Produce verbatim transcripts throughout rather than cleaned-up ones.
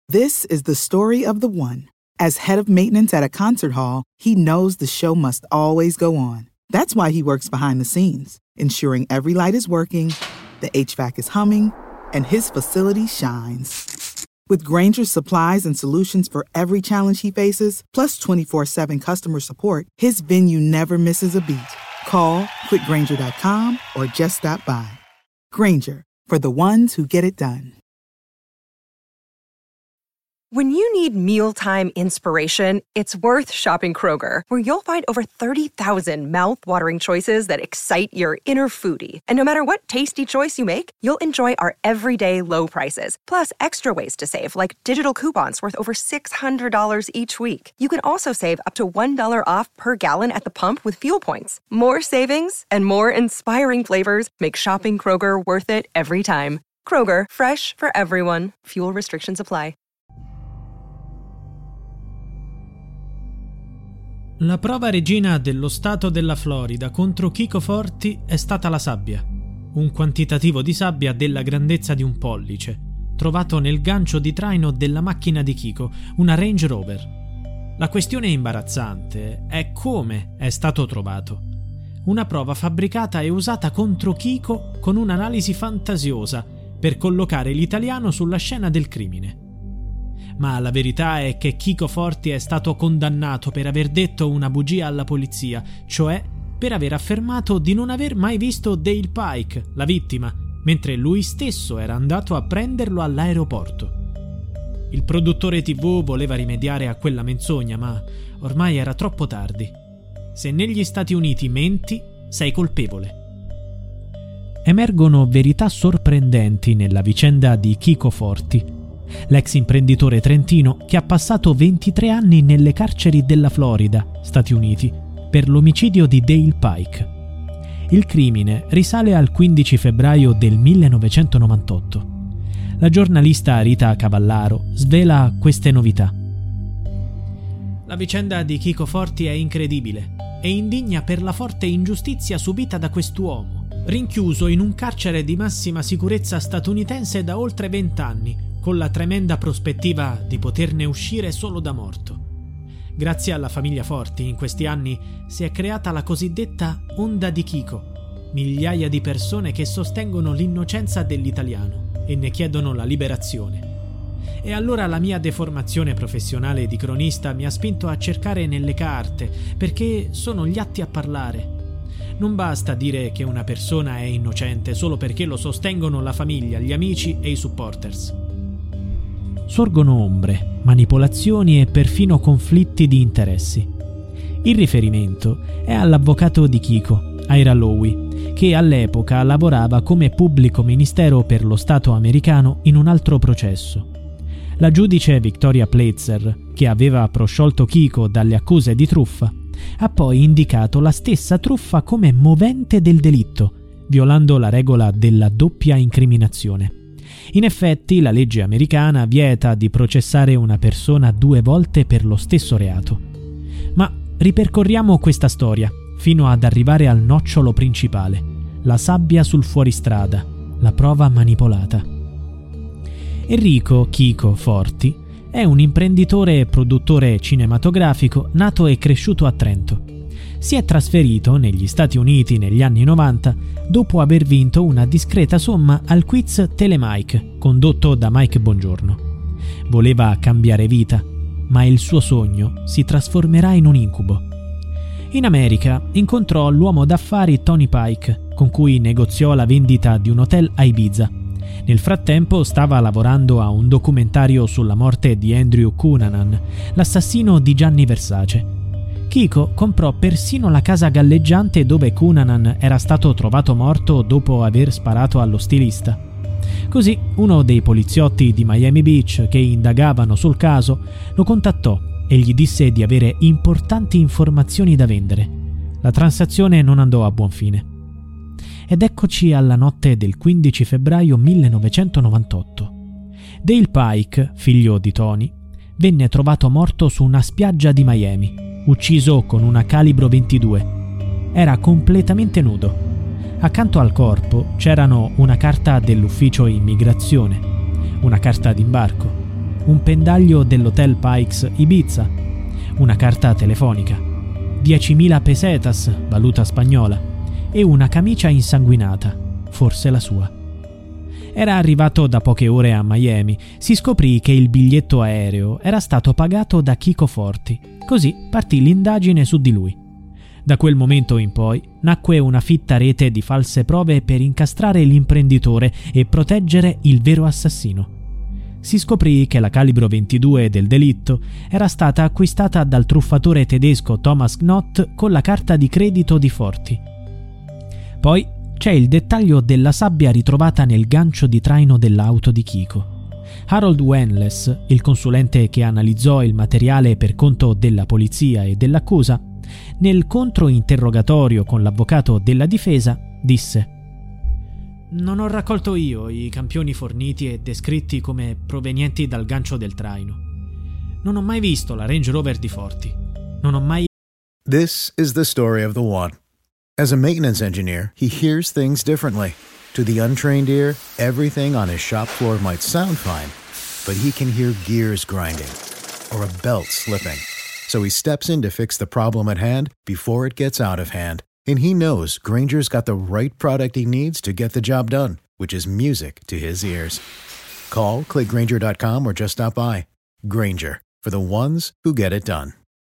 This is the story of the one. As head of maintenance at a concert hall, he knows the show must always go on. That's why he works behind the scenes, ensuring every light is working, the H V A C is humming, and his facility shines. With Grainger's supplies and solutions for every challenge he faces, plus twenty-four seven customer support, his venue never misses a beat. Call quick grainger dot com or just stop by. Grainger, for the ones who get it done. When you need mealtime inspiration, it's worth shopping Kroger, where you'll find over thirty thousand mouth-watering choices that excite your inner foodie. And no matter what tasty choice you make, you'll enjoy our everyday low prices, plus extra ways to save, like digital coupons worth over six hundred dollars each week. You can also save up to one dollar off per gallon at the pump with fuel points. More savings and more inspiring flavors make shopping Kroger worth it every time. Kroger, fresh for everyone. Fuel restrictions apply. La prova regina dello stato della Florida contro Chico Forti è stata la sabbia, un quantitativo di sabbia della grandezza di un pollice, trovato nel gancio di traino della macchina di Chico, una Range Rover. La questione imbarazzante è come è stato trovato. Una prova fabbricata e usata contro Chico con un'analisi fantasiosa per collocare l'italiano sulla scena del crimine. Ma la verità è che Chico Forti è stato condannato per aver detto una bugia alla polizia, cioè per aver affermato di non aver mai visto Dale Pike, la vittima, mentre lui stesso era andato a prenderlo all'aeroporto. Il produttore tivù voleva rimediare a quella menzogna, ma ormai era troppo tardi. Se negli Stati Uniti menti, sei colpevole. Emergono verità sorprendenti nella vicenda di Chico Forti, l'ex imprenditore trentino che ha passato ventitré anni nelle carceri della Florida, Stati Uniti, per l'omicidio di Dale Pike. Il crimine risale al quindici febbraio del millenovecentonovantotto. La giornalista Rita Cavallaro svela queste novità. La vicenda di Chico Forti è incredibile e indigna per la forte ingiustizia subita da quest'uomo, rinchiuso in un carcere di massima sicurezza statunitense da oltre vent'anni, con la tremenda prospettiva di poterne uscire solo da morto. Grazie alla famiglia Forti, in questi anni si è creata la cosiddetta onda di Chico, migliaia di persone che sostengono l'innocenza dell'italiano e ne chiedono la liberazione. E allora la mia deformazione professionale di cronista mi ha spinto a cercare nelle carte, perché sono gli atti a parlare. Non basta dire che una persona è innocente solo perché lo sostengono la famiglia, gli amici e i supporters. Sorgono ombre, manipolazioni e perfino conflitti di interessi. Il riferimento è all'avvocato di Chico, Ira Lowy, che all'epoca lavorava come pubblico ministero per lo Stato americano in un altro processo. La giudice Victoria Platzer, che aveva prosciolto Chico dalle accuse di truffa, ha poi indicato la stessa truffa come movente del delitto, violando la regola della doppia incriminazione. In effetti, la legge americana vieta di processare una persona due volte per lo stesso reato. Ma ripercorriamo questa storia fino ad arrivare al nocciolo principale, la sabbia sul fuoristrada, la prova manipolata. Enrico Chico Forti è un imprenditore e produttore cinematografico nato e cresciuto a Trento. Si è trasferito negli Stati Uniti negli anni novanta dopo aver vinto una discreta somma al quiz Telemike condotto da Mike Bongiorno. Voleva cambiare vita, ma il suo sogno si trasformerà in un incubo. In America incontrò l'uomo d'affari Tony Pike, con cui negoziò la vendita di un hotel a Ibiza. Nel frattempo stava lavorando a un documentario sulla morte di Andrew Cunanan, l'assassino di Gianni Versace. Chico comprò persino la casa galleggiante dove Cunanan era stato trovato morto dopo aver sparato allo stilista. Così uno dei poliziotti di Miami Beach che indagavano sul caso lo contattò e gli disse di avere importanti informazioni da vendere. La transazione non andò a buon fine. Ed eccoci alla notte del quindici febbraio millenovecentonovantotto. Dale Pike, figlio di Tony, venne trovato morto su una spiaggia di Miami, ucciso con una calibro ventidue. Era completamente nudo. Accanto al corpo c'erano una carta dell'ufficio immigrazione, una carta d'imbarco, un pendaglio dell'Hotel Pikes Ibiza, una carta telefonica, diecimila pesetas, valuta spagnola, e una camicia insanguinata, forse la sua. Era arrivato da poche ore a Miami, si scoprì che il biglietto aereo era stato pagato da Chico Forti, così partì l'indagine su di lui. Da quel momento in poi nacque una fitta rete di false prove per incastrare l'imprenditore e proteggere il vero assassino. Si scoprì che la calibro ventidue del delitto era stata acquistata dal truffatore tedesco Thomas Knott con la carta di credito di Forti. Poi c'è il dettaglio della sabbia ritrovata nel gancio di traino dell'auto di Chico. Harold Wenles, il consulente che analizzò il materiale per conto della polizia e dell'accusa, nel controinterrogatorio con l'avvocato della difesa, disse: «Non ho raccolto io i campioni forniti e descritti come provenienti dal gancio del traino. Non ho mai visto la Range Rover di Forti. Non ho mai...» This is the story of the one. As a maintenance engineer, he hears things differently. To the untrained ear, everything on his shop floor might sound fine, but he can hear gears grinding or a belt slipping. So he steps in to fix the problem at hand before it gets out of hand. And he knows Grainger's got the right product he needs to get the job done, which is music to his ears. Call, click Grainger dot com or just stop by. Grainger, for the ones who get it done.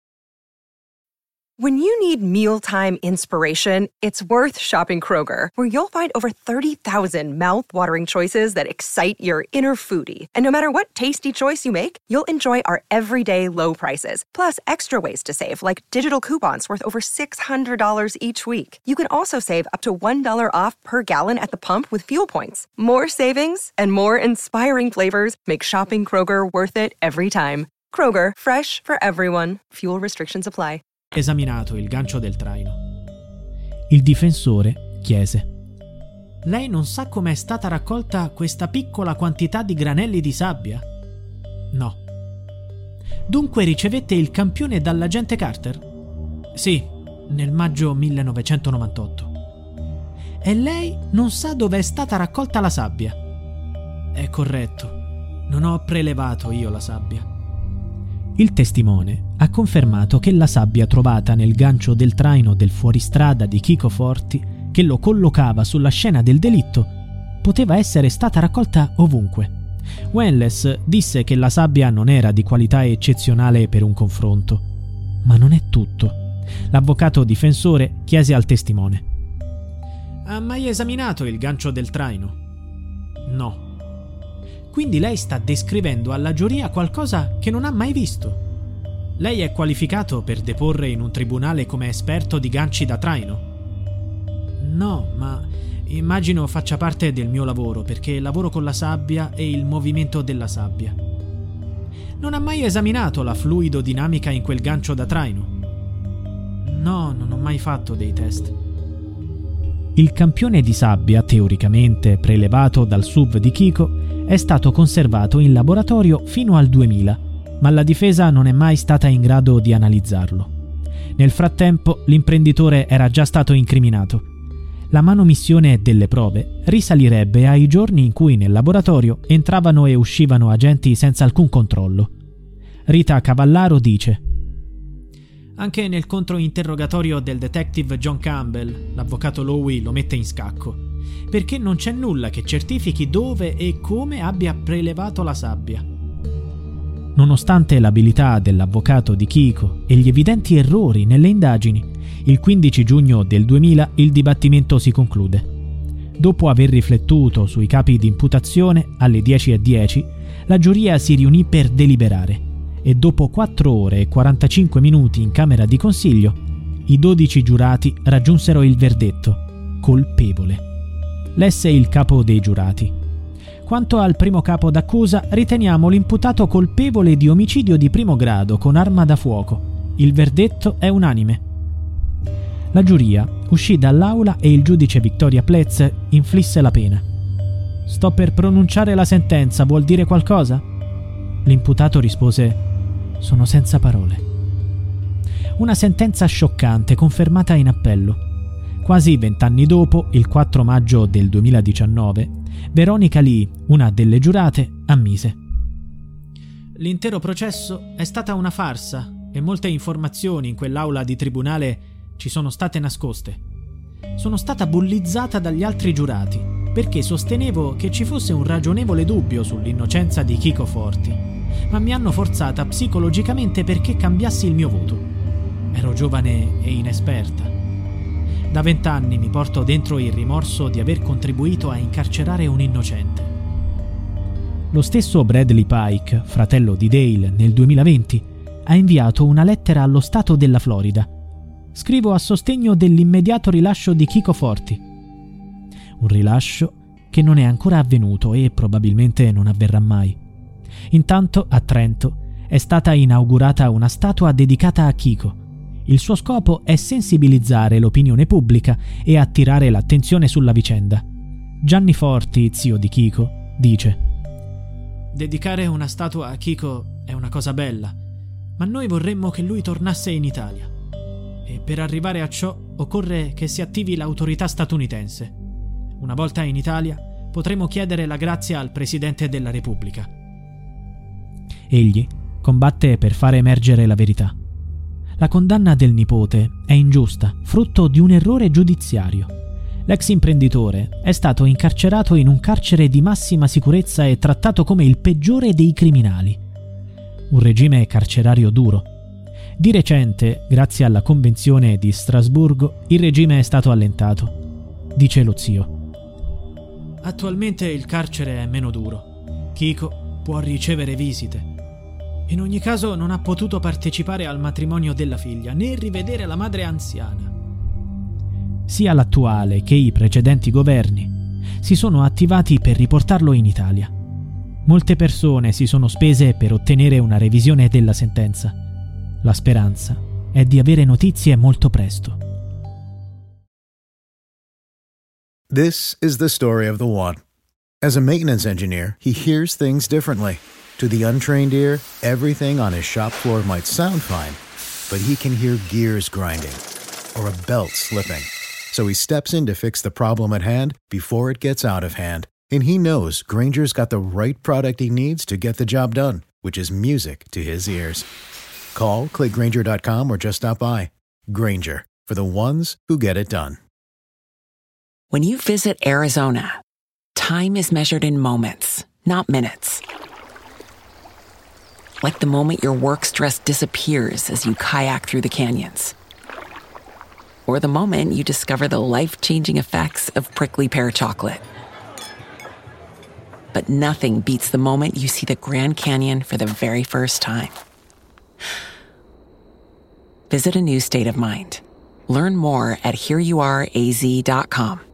When you need mealtime inspiration, it's worth shopping Kroger, where you'll find over thirty thousand mouth-watering choices that excite your inner foodie. And no matter what tasty choice you make, you'll enjoy our everyday low prices, plus extra ways to save, like digital coupons worth over six hundred dollars each week. You can also save up to one dollar off per gallon at the pump with fuel points. More savings and more inspiring flavors make shopping Kroger worth it every time. Kroger, fresh for everyone. Fuel restrictions apply. Esaminato il gancio del traino. Il difensore chiese: «Lei non sa come è stata raccolta questa piccola quantità di granelli di sabbia?» «No». «Dunque ricevette il campione dall'agente Carter?» «Sì, nel maggio millenovecentonovantotto». «E lei non sa dove è stata raccolta la sabbia?» «È corretto, non ho prelevato io la sabbia». Il testimone ha confermato che la sabbia trovata nel gancio del traino del fuoristrada di Chico Forti, che lo collocava sulla scena del delitto, poteva essere stata raccolta ovunque. Wenles disse che la sabbia non era di qualità eccezionale per un confronto. Ma non è tutto. L'avvocato difensore chiese al testimone: «Ha mai esaminato il gancio del traino?» «No». «Quindi lei sta descrivendo alla giuria qualcosa che non ha mai visto. Lei è qualificato per deporre in un tribunale come esperto di ganci da traino?» «No, ma immagino faccia parte del mio lavoro, perché lavoro con la sabbia e il movimento della sabbia». «Non ha mai esaminato la fluidodinamica in quel gancio da traino?» «No, non ho mai fatto dei test». Il campione di sabbia, teoricamente prelevato dal S U V di Chico, è stato conservato in laboratorio fino al duemila, ma la difesa non è mai stata in grado di analizzarlo. Nel frattempo, l'imprenditore era già stato incriminato. La manomissione delle prove risalirebbe ai giorni in cui nel laboratorio entravano e uscivano agenti senza alcun controllo. Rita Cavallaro dice: «Anche nel controinterrogatorio del detective John Campbell, l'avvocato Lowy lo mette in scacco, perché non c'è nulla che certifichi dove e come abbia prelevato la sabbia». Nonostante l'abilità dell'avvocato di Chico e gli evidenti errori nelle indagini, il quindici giugno del duemila il dibattimento si conclude. Dopo aver riflettuto sui capi di imputazione, alle dieci e dieci, la giuria si riunì per deliberare e dopo quattro ore e quarantacinque minuti in camera di consiglio, i dodici giurati raggiunsero il verdetto: colpevole. Lesse il capo dei giurati: «Quanto al primo capo d'accusa, riteniamo l'imputato colpevole di omicidio di primo grado con arma da fuoco. Il verdetto è unanime». La giuria uscì dall'aula e il giudice Victoria Plez inflisse la pena. «Sto per pronunciare la sentenza, vuol dire qualcosa?» L'imputato rispose: «Sono senza parole». Una sentenza scioccante confermata in appello. Quasi vent'anni dopo, il quattro maggio del duemiladiciannove, Veronica Lee, una delle giurate, ammise: L'intero processo è stata una farsa e molte informazioni in quell'aula di tribunale ci sono state nascoste. Sono stata bullizzata dagli altri giurati perché sostenevo che ci fosse un ragionevole dubbio sull'innocenza di Chico Forti, ma mi hanno forzata psicologicamente perché cambiassi il mio voto. Ero giovane e inesperta. Da vent'anni mi porto dentro il rimorso di aver contribuito a incarcerare un innocente. Lo stesso Bradley Pike, fratello di Dale, nel duemilaventi, ha inviato una lettera allo Stato della Florida. Scrivo a sostegno dell'immediato rilascio di Chico Forti. Un rilascio che non è ancora avvenuto e probabilmente non avverrà mai. Intanto, a Trento, è stata inaugurata una statua dedicata a Chico. Il suo scopo è sensibilizzare l'opinione pubblica e attirare l'attenzione sulla vicenda. Gianni Forti, zio di Chico, dice: dedicare una statua a Chico è una cosa bella, ma noi vorremmo che lui tornasse in Italia. E per arrivare a ciò occorre che si attivi l'autorità statunitense. Una volta in Italia potremo chiedere la grazia al Presidente della Repubblica. Egli combatte per fare emergere la verità. La condanna del nipote è ingiusta, frutto di un errore giudiziario. L'ex imprenditore è stato incarcerato in un carcere di massima sicurezza e trattato come il peggiore dei criminali. Un regime carcerario duro. Di recente, grazie alla Convenzione di Strasburgo, il regime è stato allentato. Dice lo zio: attualmente il carcere è meno duro. Chico può ricevere visite. In ogni caso non ha potuto partecipare al matrimonio della figlia, né rivedere la madre anziana. Sia l'attuale che i precedenti governi si sono attivati per riportarlo in Italia. Molte persone si sono spese per ottenere una revisione della sentenza. La speranza è di avere notizie molto presto. This is the story of the one. As a maintenance engineer, he hears things differently. To the untrained ear, everything on his shop floor might sound fine, but he can hear gears grinding or a belt slipping. So he steps in to fix the problem at hand before it gets out of hand. And he knows Grainger's got the right product he needs to get the job done, which is music to his ears. Call, click Grainger dot com, or just stop by. Grainger, for the ones who get it done. When you visit Arizona, time is measured in moments, not minutes. Like the moment your work stress disappears as you kayak through the canyons. Or the moment you discover the life-changing effects of prickly pear chocolate. But nothing beats the moment you see the Grand Canyon for the very first time. Visit a new state of mind. Learn more at here you are a z dot com.